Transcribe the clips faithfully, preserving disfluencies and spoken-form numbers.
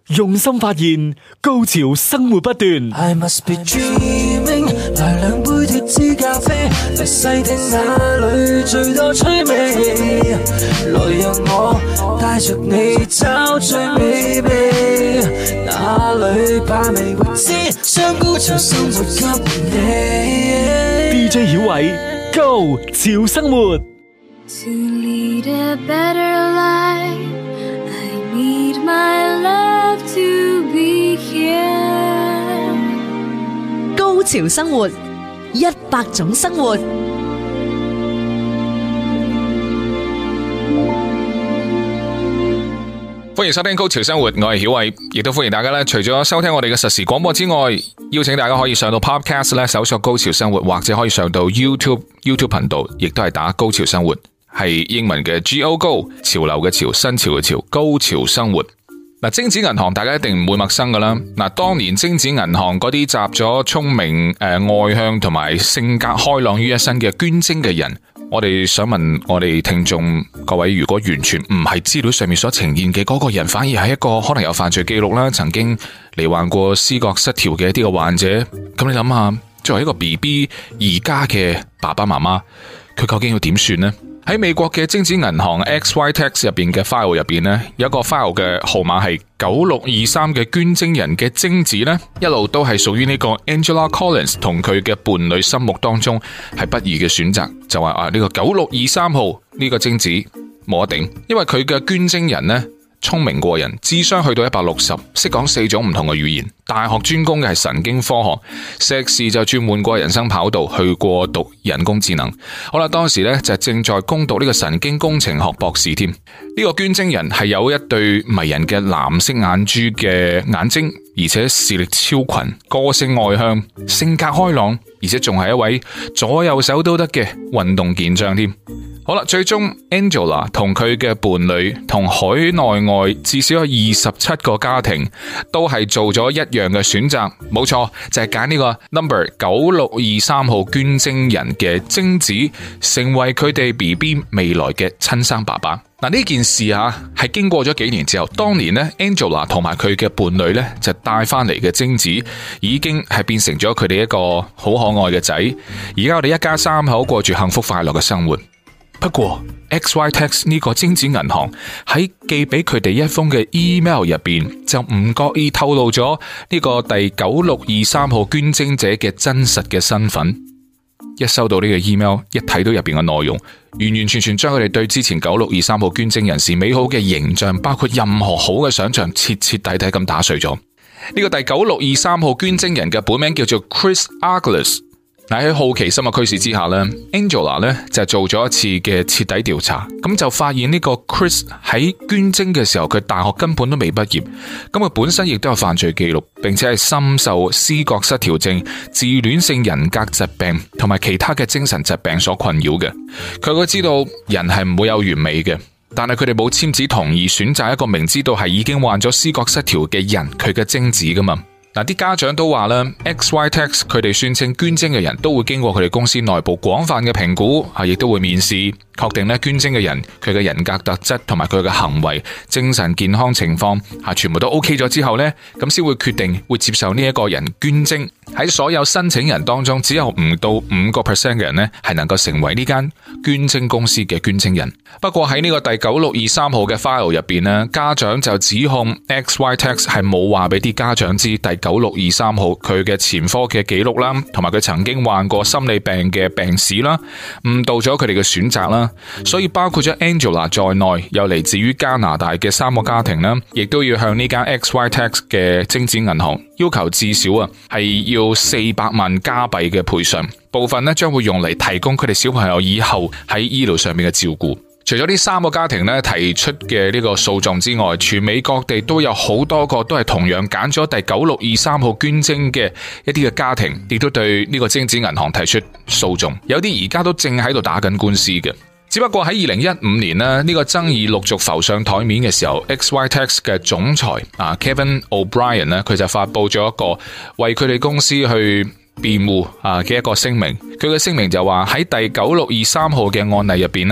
用心發現，高潮生活不斷。 I must be dreaming， 來兩杯脫脂咖啡，嚟細聽哪裏最多趣味，來讓我帶着你找最美味，哪裏把味未知，將高潮生活給你。 D J 曉偉，高潮生活。 To lead a better life, I need my love to be here。 高潮生活，一百種生活。 歡迎收聽高潮生活，我係曉偉，亦都歡迎大家咧，除咗收聽我哋嘅實時廣播之外，邀請大家可以上到 Podcast 咧，搜索高潮生活，或者可以上到 YouTube YouTube 頻道，亦都係打高潮生活，係英文嘅 G O Go， 潮流嘅潮，新潮嘅潮，高潮生活。嗱，精子銀行大家一定唔會陌生噶啦。嗱，當年精子銀行嗰啲集咗聰明、誒、呃、外向同埋性格開朗於一身嘅捐精嘅人，我哋想問我哋聽眾各位，如果完全唔係資料上面所呈現嘅嗰個人，反而係一個可能有犯罪記錄啦，曾經罹患過思覺失調嘅一啲嘅患者，咁你諗下，作為一個 B B 而家嘅爸爸媽媽，佢究竟要點算呢？喺美國嘅精子銀行 X Y Tax 入邊嘅 file 入邊呢，有一個 file 嘅號碼係九六二三嘅捐精人嘅精子呢，一路都係屬於呢個 Angela Collins 同佢嘅伴侶心目當中係不二嘅選擇，就話啊呢個九六二三號呢個精子冇得頂，因為佢嘅捐精人呢，聰明過人，智商去到一百六十，識講四種唔同嘅語言，大學專攻嘅係神經科學，碩士就轉換過人生跑道，去過讀人工智能。好啦，當時咧就正在攻讀呢個神經工程學博士添。呢、這個捐精人係有一對迷人嘅藍色眼珠嘅眼睛，而且視力超群，個性外向，性格開朗，而且仲係一位左右手都得嘅運動健將添。好啦，最終 Angela 同佢嘅伴侶同海內外至少有二十七個家庭都係做咗一樣嘅選擇，冇錯，就係揀呢個 number 九六二三號捐精人嘅精子，成為佢哋 B B 未來嘅親生爸爸。嗱，呢件事啊係經過咗幾年之後，當年呢 Angela 同埋佢嘅伴侶呢，就帶翻嚟嘅精子已經係變成咗佢哋一個好可愛嘅仔，而家我哋一家三口過住幸福快樂嘅生活。不過 X Y Tax 呢個精子銀行喺寄俾佢哋一封嘅 email 入邊，就唔覺意透露咗呢個第九六二三號捐精者嘅真實嘅身份。一收到呢個 email， 一睇到入邊嘅內容，完完全全將佢哋對之前九六二三號捐精人士美好嘅形象，包括任何好嘅想象，徹徹底底咁打碎咗。呢個第九六二三號捐精人嘅本名叫做 Chris Arglis。喺好奇心嘅驅使之下呢 Angela 呢就做咗一次嘅徹底調查，咁就發現呢個 Chris 喺捐精嘅時候，佢大學根本都未畢業，咁佢本身亦都有犯罪記錄，並且係深受思覺失調症、自戀性人格疾病同埋其他嘅精神疾病所困擾嘅。佢都知道人係唔會有完美嘅，但係佢哋冇簽字同意選擇一個明知道係已經患咗思覺失調嘅人佢嘅精子噶嘛。嗱，啲家長都話啦 X Y Tax 佢哋宣稱捐精嘅人都會經過佢哋公司內部廣泛嘅評估，係亦都會面試，確定咧捐精嘅人佢嘅人格特質同埋佢嘅行為、精神健康情況係全部都 OK 咗之後呢，咁先會決定會接受呢一個人捐精。喺所有申請人當中，只有唔到五個 percent 嘅人呢係能夠成為呢間捐精公司嘅捐精人。不過喺呢個第九六二三號嘅 file 入邊呢，家長就指控 X Y Tax 係冇話俾啲家長知第九六二三號佢嘅前科嘅記錄啦，同埋佢曾經患過心理病嘅病史啦，誤導咗佢哋嘅選擇啦。所以包括咗 Angela 在內，有嚟自於加拿大嘅三個家庭啦，亦都要向呢間 X Y Tax 嘅精子銀行要求至少啊係要四百萬加幣嘅賠償，部分呢將會用嚟提供佢哋小朋友以後喺醫療上面嘅照顧。除咗呢三個家庭呢提出嘅呢個訴訟之外，全美各地都有好多個都係同樣揀咗第九六二三號捐精嘅一啲嘅家庭，亦都對呢個精子銀行提出訴訟，有啲而家都正喺度打緊官司嘅。只不過喺二零一五年呢，呢個爭議陸續浮上台面嘅時候 ，X Y Tax 嘅總裁啊 Kevin O'Brien 呢，佢就發佈咗一個為佢哋公司去辯護啊嘅一個聲明。佢嘅聲明就話喺第九六二三號嘅案例入邊呢，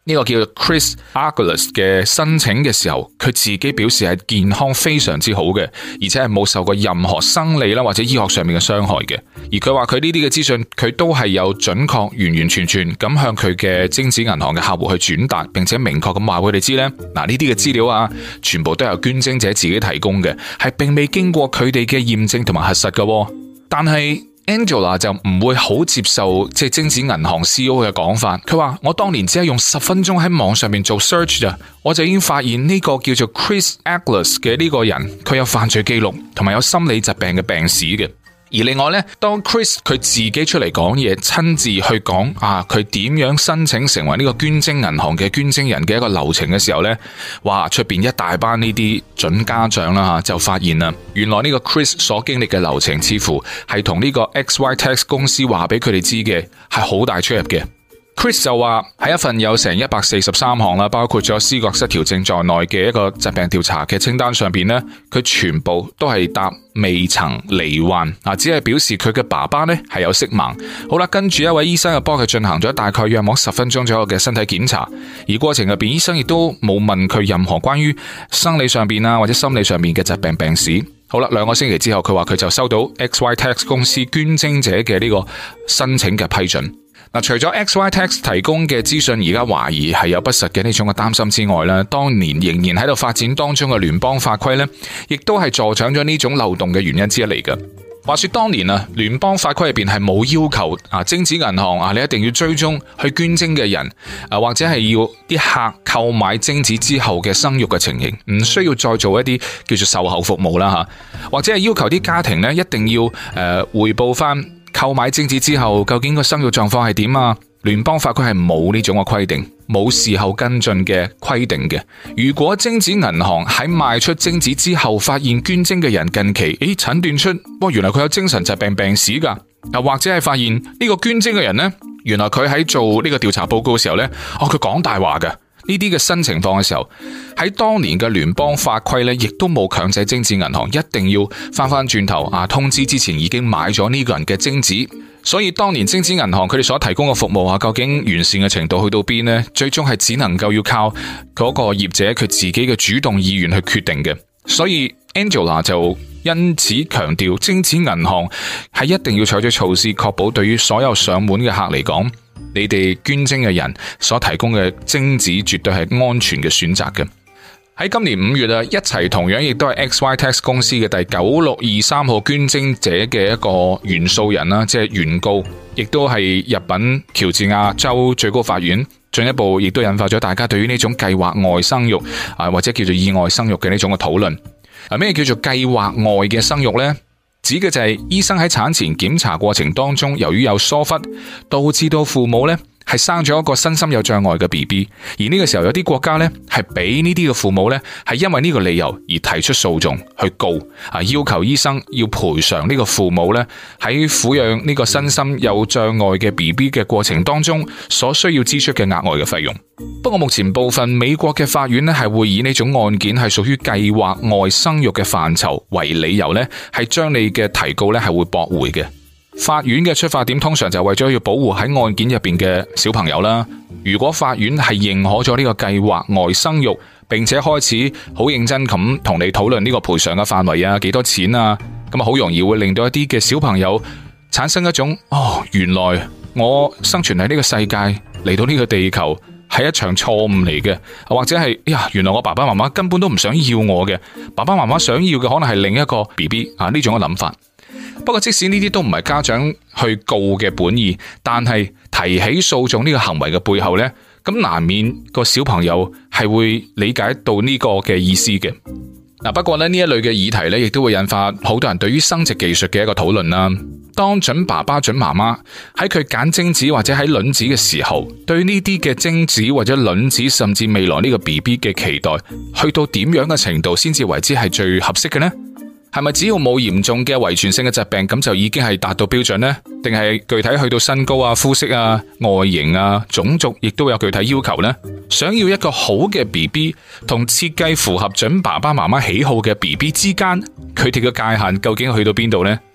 呢個叫做 Chris Agulous 嘅申請嘅時候，佢自己表示係健康非常之好嘅，而且係冇受過任何生理啦或者醫學上面嘅傷害嘅。而佢話佢呢啲嘅資訊，佢都係有準確完完全全咁向佢嘅精子銀行嘅客戶去轉達，並且明確咁話佢哋知呢，嗱呢啲嘅資料啊，全部都由捐精者自己提供嘅，係並未經過佢哋嘅驗證同埋核實嘅。但係Angela 就唔會好接受即係精子銀行 C E O 嘅講法，佢話我當年只係用十分鐘喺網上面做 search 咋，我就已經發現呢個叫做 Chris Agulous 嘅呢個人，佢有犯罪記錄同埋有心理疾病嘅病史嘅。而另外呢，當 Chris 佢自己出嚟講嘢，親自去講啊，佢點樣申請成為呢個捐精銀行嘅捐精人嘅一個流程嘅時候呢，哇，出邊一大班呢啲準家長啦吓，就發現啦，原來呢個 Chris 所經歷嘅流程，似乎係同呢個 X Y Tax 公司話俾佢哋知嘅係好大出入嘅。Chris 就話喺一份有成一百四十三項啦，包括咗思覺失調症在內嘅一個疾病調查嘅清單上邊呢，佢全部都係答未曾罹患，啊，只係表示佢嘅爸爸呢係有色盲。好啦，跟住一位醫生就幫佢進行咗大概約莫十分鐘左右嘅身體檢查，而過程入邊醫生亦都冇問佢任何關於生理上邊啊或者心理上面嘅疾病病史。好啦，兩個星期之後，佢話佢就收到 X Y Tax 公司捐精者嘅呢個申請嘅批准。嗱，除咗 X Y Tax 提供嘅資訊而家懷疑係有不實嘅呢種嘅擔心之外咧，當年仍然喺度發展當中嘅聯邦法規咧，亦都係助長咗呢種漏洞嘅原因之一嚟嘅。話說當年啊，聯邦法規入邊係冇要求啊精子銀行啊你一定要追蹤去捐精嘅人啊，或者係要啲客購買精子之後嘅生育嘅情形，唔需要再做一啲叫做售後服務啦吓，或者係要求啲家庭咧一定要誒匯報翻購買精子之後究竟個生育狀況係點啊？聯邦法規係冇呢種嘅規定，冇事後跟進嘅規定嘅。如果精子銀行喺賣出精子之後發現捐精嘅人近期誒診斷出，哇原來佢有精神疾病病史噶，又或者係發現呢個捐精嘅人呢，原來佢喺做呢個調查報告嘅時候呢，哦佢講大話噶。呢啲嘅新情況嘅時候，喺當年嘅聯邦法規咧，亦都冇強制精子銀行一定要翻翻轉頭啊，通知之前已經買咗呢個人嘅精子。所以當年精子銀行佢哋所提供嘅服務啊，究竟完善嘅程度去到邊呢？最終係只能夠要靠嗰個業者佢自己嘅主動意願去決定嘅。所以 Angela 就因此強調，精子銀行係一定要採取措施，確保對於所有上門嘅客嚟講，你哋捐精嘅人所提供嘅精子絕對係安全嘅選擇嘅。喺今年五月啊，一齊同樣亦都係 X Y Tax 公司嘅第九六二三號捐精者嘅一個原訴人啦，即係原告，亦都係入稟喬治亞州最高法院，進一步亦都引發咗大家對於呢種計劃外生育啊，或者叫做意外生育嘅呢種嘅討論。啊，咩叫做計劃外嘅生育呢？指嘅就係醫生喺產前檢查過程當中，由於有疏忽，導致到父母呢係生咗一個身心有障礙嘅 B B， 而呢個時候有啲國家呢係俾呢啲嘅父母呢係因為呢個理由而提出訴訟去告啊，要求醫生要賠償呢個父母呢喺撫養呢個身心有障礙嘅 B B 嘅過程當中所需要支出嘅額外嘅費用。不過目前部分美國嘅法院呢係會以呢種案件係屬於計劃外生育嘅範疇為理由呢係將你嘅提告呢係會駁回嘅。法院嘅出發點通常就係為咗要保護喺案件入邊嘅小朋友啦。如果法院係認可咗呢個計劃外生育，並且開始好認真咁同你討論呢個賠償嘅範圍啊，幾多錢啊，咁啊好容易會令到一啲嘅小朋友產生一種哦，原來我生存喺呢個世界嚟到呢個地球係一場錯誤嚟嘅，或者係呀，原來我爸爸媽媽根本都唔想要我嘅，爸爸媽媽想要嘅可能係另一個 B B 啊，呢種嘅諗法。不過即使呢啲都唔係家長去告嘅本意，但係提起訴訟呢個行為嘅背後呢，咁難免個小朋友係會理解到呢個嘅意思嘅。嗱，不過咧呢一類嘅議題呢，亦都會引發好多人對於生殖技術嘅一個討論啦。當準爸爸、準媽媽喺佢揀精子或者喺卵子嘅時候，對呢啲嘅精子或者卵子，甚至未來呢個 B B 嘅期待，去到點樣嘅程度先至為之係最合適嘅呢？係咪只要冇嚴重嘅遺傳性嘅疾病，咁就已經係達到標準呢？定係具體去到身高啊、膚色啊、外形啊、種族，亦都有具體要求呢？想要一個好嘅 B B 同設計符合準爸爸媽媽喜好嘅 B B 之間，佢哋嘅界限究竟去到邊度呢？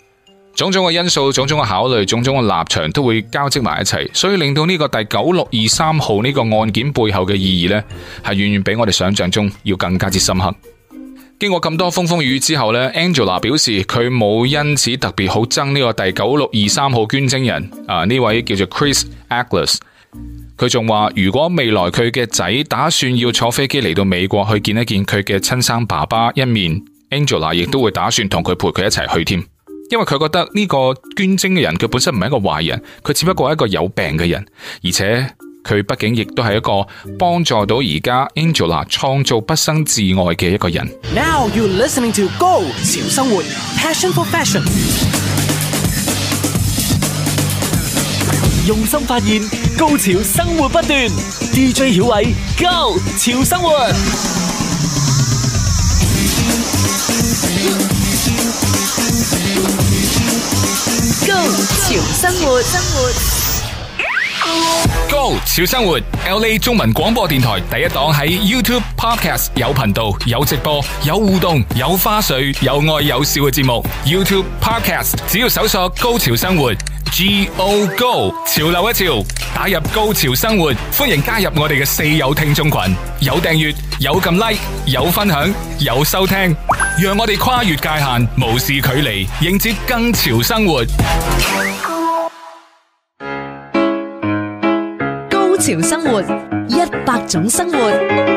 種種嘅因素、種種嘅考慮、種種嘅立場都會交織埋一齊，所以令到呢個第九六二三號呢個案件背後嘅意義呢，係遠遠比我哋想象中要更加之深刻。經過咁多風風雨雨之後呢， Angela 表示佢冇因此特別好憎呢個第九六二三號捐精人啊，呢位叫做 Chris Agles。佢仲話如果未來佢嘅仔打算要坐飛機嚟到美國去見一見佢嘅親生爸爸一面， Angela 亦都會打算同佢陪佢一齊去添。因為佢覺得呢個捐精嘅人佢本身唔係一個壞人，佢只不過係一個有病嘅人，而且佢畢竟亦都係一個幫助到而家 Angela 創造畢生至愛嘅一個人。 Now you're listening to Go 潮生活 Passion for Fashion。 用心發現，高潮生活不斷。D J 曉偉 Go 潮生活。 高潮生活，生活 Go 潮生活 L A 中文廣播電台第一檔，喺 YouTube Podcast 有頻道、有直播、有互動、有花絮、有愛有笑嘅節目。YouTube Podcast 只要搜索高潮生活 G O Go 潮流一潮，打入高潮生活，歡迎加入我哋嘅四友聽眾群，有訂閱、有撳 like、有分享、有收聽，讓我哋跨越界限，無視距離，迎接更潮生活。 高潮生活，一百種生活。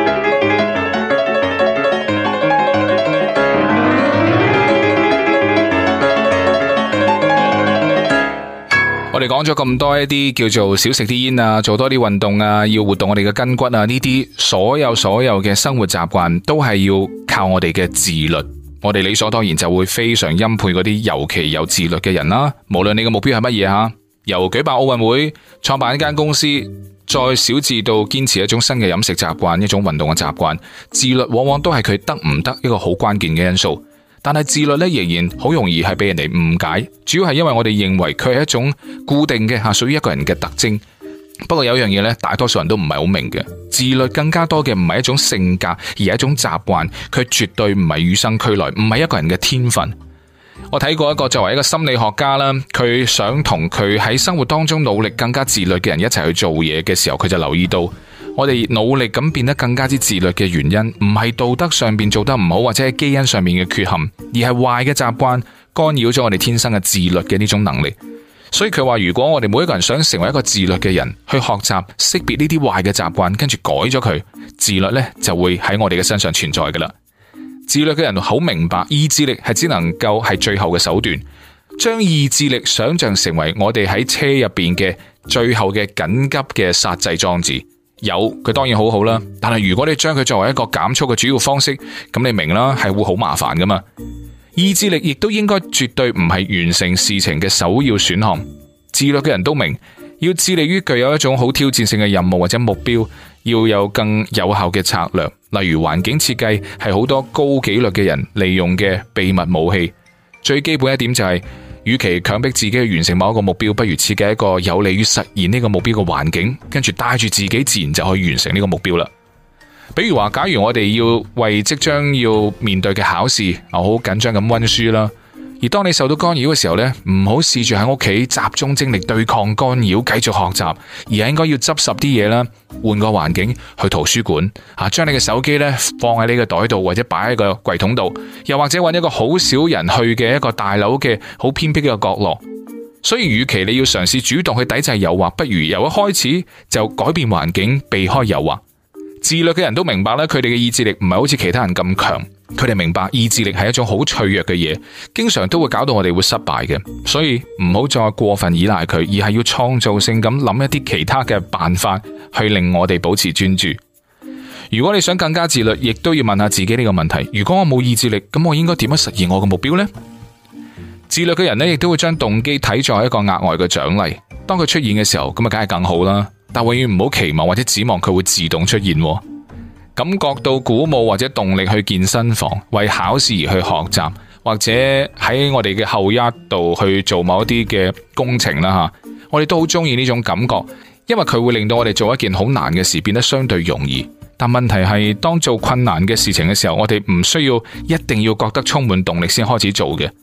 我哋講咗咁多一啲叫做少食啲煙啊，做多啲運動啊，要活動我哋嘅筋骨啊，呢啲所有所有嘅生活習慣都係要靠我哋嘅自律。我哋理所當然就會非常欽佩嗰啲尤其有自律嘅人啦。無論你嘅目標係乜嘢吓，由舉辦奧運會、創辦一間公司，再小至到堅持一種新嘅飲食習慣、一種運動嘅習慣，自律往往都係佢得唔得一個好關鍵嘅因素。但係自律咧，仍然好容易係俾人哋誤解，主要係因為我哋認為佢係一種固定嘅吓，屬於一個人嘅特徵。不過有樣嘢咧，大多數人都唔係好明嘅，自律更加多嘅唔係一種性格，而係一種習慣，佢絕對唔係與生俱來，唔係一個人嘅天分。我睇過一個作為一個心理學家啦，佢想同佢喺生活當中努力更加自律嘅人一齊去做嘢嘅時候，佢就留意到我哋努力咁變得更加之自律嘅原因，唔係道德上邊做得唔好，或者係基因上面嘅缺陷，而係壞嘅習慣干擾咗我哋天生嘅自律嘅呢種能力。所以佢話，如果我哋每一個人想成為一個自律嘅人，去學習識別呢啲壞嘅習慣，跟住改咗佢，自律呢就會喺我哋嘅身上存在噶啦。自律嘅人好明白，意志力係只能夠係最後嘅手段，將意志力想象成為我哋喺車入邊嘅最後嘅緊急嘅剎制裝置。有佢當然好好啦，但係如果你將佢作為一個減速嘅主要方式，咁你明啦，係會好麻煩噶嘛。意志力亦都應該絕對唔係完成事情嘅首要選項。自律嘅人都明，要致力於具有一種好挑戰性嘅任務或者目標，要有更有效嘅策略。例如環境設計係好多高紀律嘅人利用嘅秘密武器。最基本一點就係，與其強迫自己去完成某一個目標，不如設計一個有利於實現呢個目標嘅環境，跟住帶住自己，自然就可以完成呢個目標啦。比如話，假如我哋要為即將要面對嘅考試啊，好緊張咁溫書啦。而當你受到干擾嘅時候呢，唔好試住喺屋企集中精力對抗干擾，繼續學習，而係應該要執拾啲嘢啦，換個環境，去圖書館啊，將你嘅手機呢放喺你嘅袋度，或者擺喺個櫃桶度，又或者揾一個好少人去嘅一個大樓嘅好偏僻嘅角落。所以，與其你要嘗試主動去抵制誘惑，不如由一開始就改變環境，避開誘惑。自律嘅人都明白咧，佢哋嘅意志力唔係好似其他人咁強，佢哋明白意志力係一種好脆弱嘅嘢，經常都會搞到我哋會失敗嘅。所以唔好再過分依賴佢，而係要創造性咁諗一啲其他嘅辦法，去令我哋保持專注。如果你想更加自律，亦都要問下自己呢個問題：如果我冇意志力，咁我應該點樣實現我嘅目標呢？自律嘅人呢，亦都會將動機睇作一個額外嘅獎勵。當佢出現嘅時候，咁啊，梗係更好啦。但永遠唔好期望或者指望佢會自動出現。感覺到鼓舞或者動力去健身房，為考試而去學習，或者喺我哋嘅後一度去做某一啲嘅工程啦吓，我哋都好中意呢種感覺，因為佢會令到我哋做一件好難嘅事變得相對容易。但問題係，當做困難嘅事情嘅時候，我哋唔需要一定要覺得充滿動力先開始做嘅。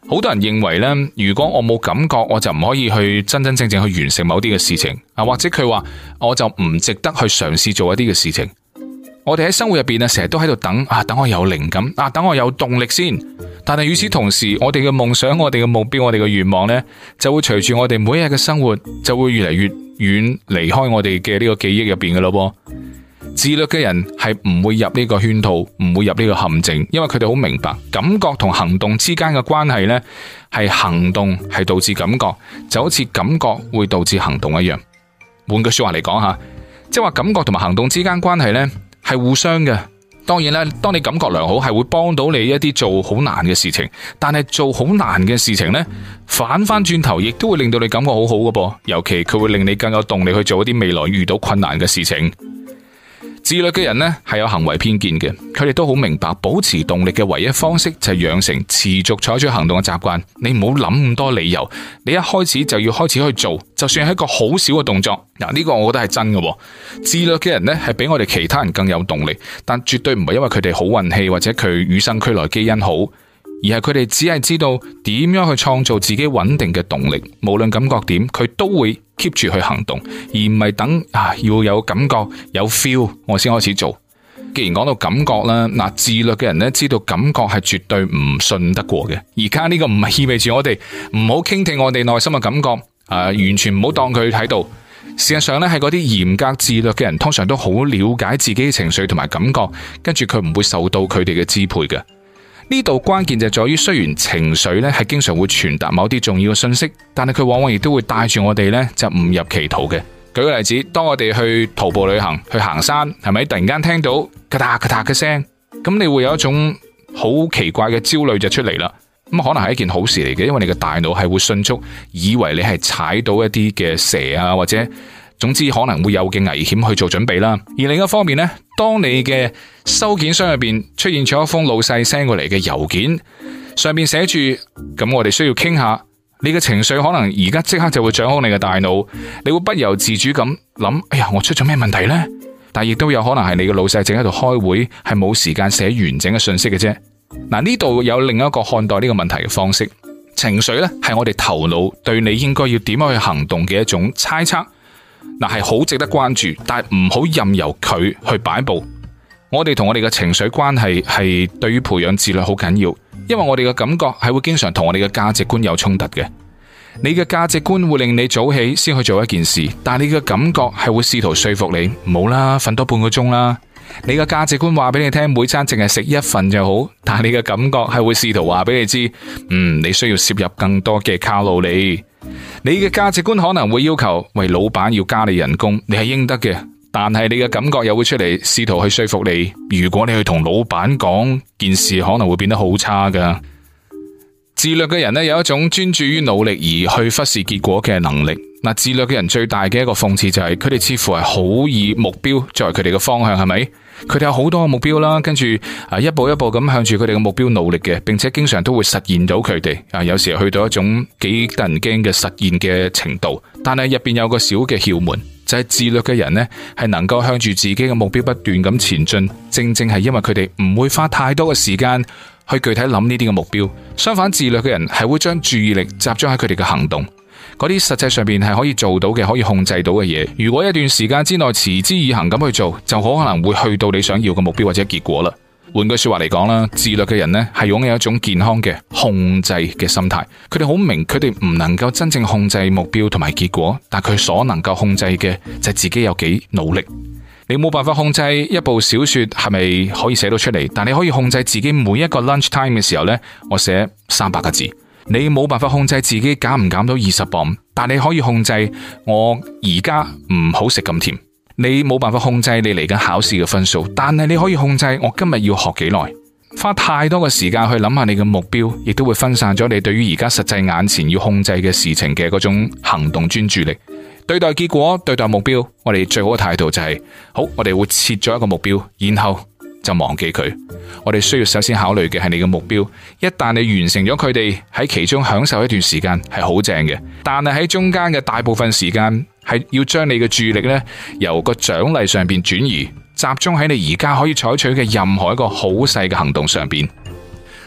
好多人認為呢，如果我冇感覺，我就唔可以去真真正正去完成某啲嘅事情啊，或者佢話我就唔值得去嘗試做一啲嘅事情。我哋喺生活入邊啊，成日都喺度等啊，等我有靈感啊，等我有動力先。但係與此同時，我哋嘅夢想、我哋嘅目標、我哋嘅願望呢，就會隨住我哋每一日嘅生活，就會越嚟越遠，離開我哋嘅呢個記憶入邊嘅咯。自律嘅人係唔會入呢個圈套，唔會入呢個陷阱，因為佢哋好明白感覺同行動之間嘅關係呢，係行動係導致感覺，就好似感覺會導致行動一樣。換句說話嚟講下，即係話感覺同埋行動之間關係呢，係互相嘅。當然啦，當你感覺良好，係會幫到你一啲做好難嘅事情，但係做好難嘅事情呢，反翻轉頭亦都會令到你感覺好好嘅噃，尤其佢會令你更有動力去做一啲未來遇到困難嘅事情。自律嘅人呢，係有行為偏見嘅，佢哋都好明白保持動力嘅唯一方式就係養成持續採取行動嘅習慣。你唔好諗咁多理由，你一開始就要開始去做，就算係一個好小嘅動作。嗱，呢個我覺得係真嘅。自律嘅人呢，係比我哋其他人更有動力，但絕對唔係因為佢哋好運氣或者佢與生俱來基因好，而係佢哋只係知道點樣去創造自己穩定嘅動力。無論感覺點，佢都會 keep 住去行動，而唔係等啊要有感覺有 feel 我先開始做。既然講到感覺啦，嗱，自律嘅人咧知道感覺係絕對唔信得過嘅。而家呢個唔係意味住我哋唔好傾聽我哋內心嘅感覺，啊，完全唔好當佢喺度。事實上咧，係嗰啲嚴格自律嘅人，通常都好了解自己嘅情緒同埋感覺，跟住佢唔會受到佢哋嘅支配嘅。呢度關鍵就在於，雖然情緒咧係經常會傳達某啲重要嘅信息，但係佢往往亦都會帶住我哋咧就誤入歧途嘅。舉個例子，當我哋去徒步旅行、去行山，係咪突然間聽到咔嗒咔嗒嘅聲，咁你會有一種好奇怪嘅焦慮就出嚟啦。咁可能係一件好事嚟嘅，因為你嘅大腦係會迅速以為你係踩到一啲嘅蛇啊，或者總之可能會有嘅危險去做準備啦。而另一方面呢，當你嘅收件箱入邊出現咗一封老細 send 過嚟嘅郵件，上面寫住咁我哋需要傾下，你嘅情緒可能而家即刻就會掌控你嘅大腦，你會不由自主咁諗，哎呀，我出咗咩問題呢？但亦都有可能係你嘅老細正喺度開會，係冇時間寫完整嘅信息嘅啫。嗱，呢度有另一個看待呢個問題嘅方式，情緒呢係我哋頭腦對你應該要點樣去行動嘅一種猜測。嗱，係好值得關注，但係唔好任由佢去擺布。我哋同我哋嘅情緒關係係對於培養自律好緊要，因為我哋嘅感覺係會經常同我哋嘅價值觀有衝突嘅。你嘅價值觀會令你早起先去做一件事，但係你嘅感覺係會試圖說服你，唔好啦，瞓多半個鐘啦。你嘅價值觀話俾你聽，每餐淨係食一份就好，但係你嘅感覺係會試圖話俾你知，嗯，你需要攝入更多嘅卡路里。你嘅價值觀可能會要求，喂，老闆要加你人工，你係應得嘅，但係你嘅感覺又會出嚟試圖去說服你，如果你去同老闆講，件事可能會變得好差噶。自律嘅人呢，有一種專注於努力而去忽視結果嘅能力。嗱，自律嘅人最大嘅一個諷刺就係佢哋似乎係好以目標作為佢哋嘅方向，係咪？佢哋有好多嘅目標啦，跟住啊一步一步咁向住佢哋嘅目標努力嘅，並且經常都會實現到佢哋啊，有時去到一種幾得人驚嘅實現嘅程度。但係入邊有個小嘅竅門，就係自律嘅人呢，係能夠向住自己嘅目標不斷咁前進，正正係因為佢哋唔會花太多嘅時間去具體諗呢啲嘅目標。相反，自律嘅人係會將注意力集中喺佢哋嘅行動，嗰啲實際上邊係可以做到嘅、可以控制到嘅嘢。如果一段時間之內持之以恆咁去做，就可能會去到你想要嘅目標或者結果啦。換句說話嚟講啦，自律嘅人呢係擁有一種健康嘅控制嘅心態。佢哋好明，佢哋唔能夠真正控制目標同埋結果，但佢所能夠控制嘅就係自己有幾努力。你冇辦法控制一部小說係咪可以寫到出嚟，但你可以控制自己每一個 lunch time 嘅時候呢，我寫三百個字。你冇辦法控制自己減唔減到二十磅，但你可以控制我而家唔好食咁甜。你冇辦法控制你嚟緊考試嘅分數，但係你可以控制我今日要學幾耐。花太多嘅時間去諗下你嘅目標，亦都會分散咗你對於而家實際眼前要控制嘅事情嘅嗰種行動專注力。對待結果，對待目標，我哋最好嘅態度就係、是、好，我哋會設咗一個目標，然後就忘記佢。我哋需要首先考慮嘅係你嘅目標，一旦你完成咗佢哋，喺其中享受一段時間係好正嘅，但係喺中間嘅大部分時間係要將你嘅注意力呢由個獎勵上邊轉移，集中喺你而家可以採取嘅任何一個好細嘅行動上邊。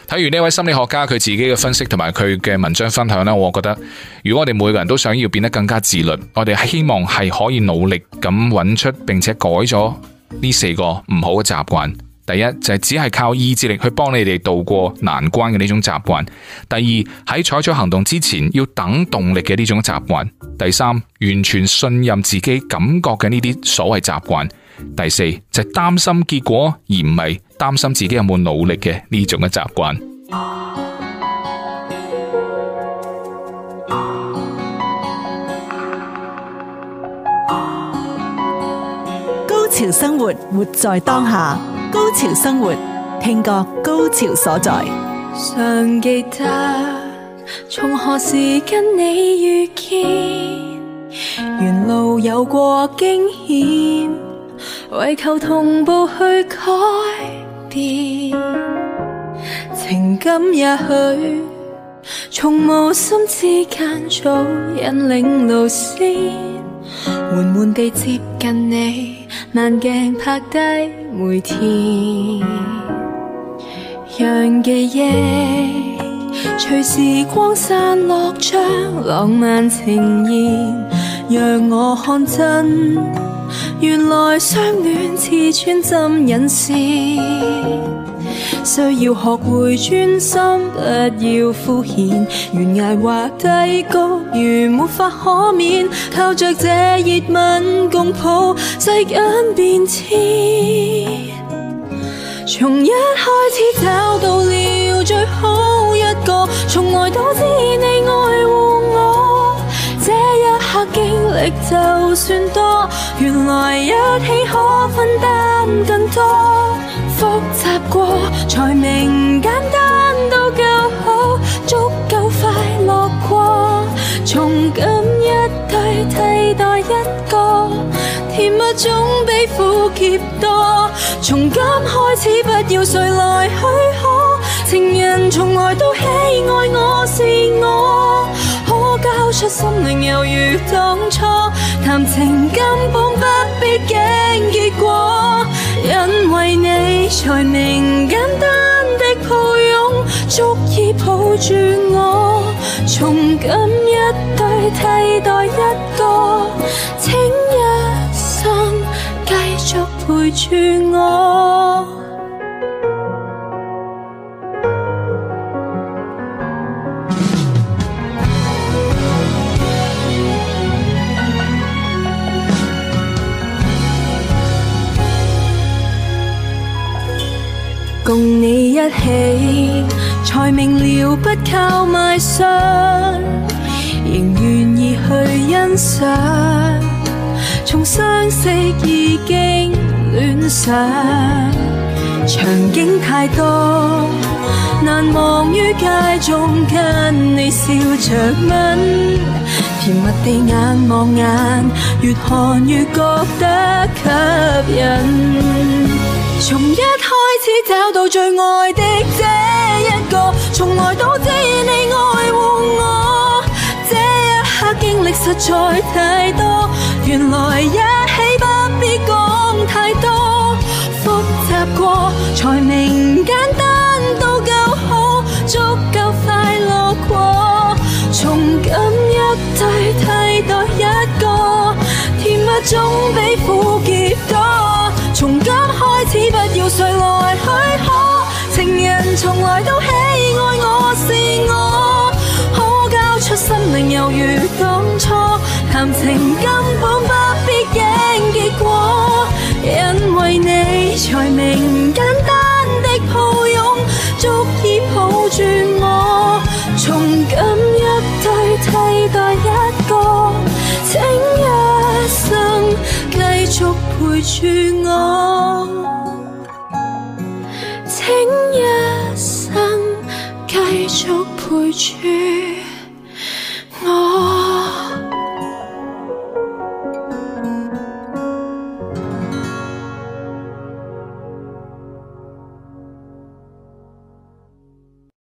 睇完呢位心理學家佢自己嘅分析同埋佢嘅文章分享呢，我覺得如果我哋每個人都想要變得更加自律，我哋希望係可以努力咁揾出並且改咗呢四個唔好嘅習慣。第一就係只係靠意志力去幫你哋渡過難關嘅呢種習慣。第二，喺採取行動之前要等動力嘅呢種習慣。第三，完全信任自己感覺嘅呢啲所謂習慣。第四，就係擔心結果而唔係擔心自己有冇努力嘅呢種嘅習慣。 高潮生活，活在當下。高潮生活，聽覺高潮所在。 尚記得從何時跟你遇見，沿路有過驚險，為求同步去改變。情感也許從無心之間早引領路線，緩緩地接近你，慢鏡拍低每天，讓記憶隨時光散落，將浪漫呈現，讓我看真，原來相戀似穿針引線。需要學會專心，不要敷衍，懸崖或低谷，如沒法可免，靠着這熱吻共抱世間變遷。從一開始找到了最好一個，從來都知你愛護我，這一刻經歷就算多，原來一起可分擔更多。複雜過才明簡單都夠好，足夠快樂過，從今一對替代一個，甜蜜總比苦澀多。從今開始不要誰來許可，情人從來都喜愛我是我，可交出心靈猶如當初，談情根本不必經結果，因為你才明簡單的抱擁，足以抱住我，從今一對替代一個，請一生繼續陪住我。共你一起，才明了不靠賣相，仍願意去欣賞。從相識已經戀上，場景太多，難忘於街中跟你笑着吻，甜蜜地眼望眼，越看越覺得吸引。從一開始找到最愛的這一個，從來都知你愛護我，這一刻經歷實在太多，原來一起不必講太多，複雜過才明簡單都夠好，足夠快樂過，從今一對替代一個，甜蜜總比苦澀多，從今開始不要誰來許可，情人從來都喜愛我是我，可交出心靈猶如當初，談情根本不必經結果，因為你才明簡單的抱擁，足以抱住我，從今一對替代一個，請一生繼續陪住我，請一生繼續陪住我。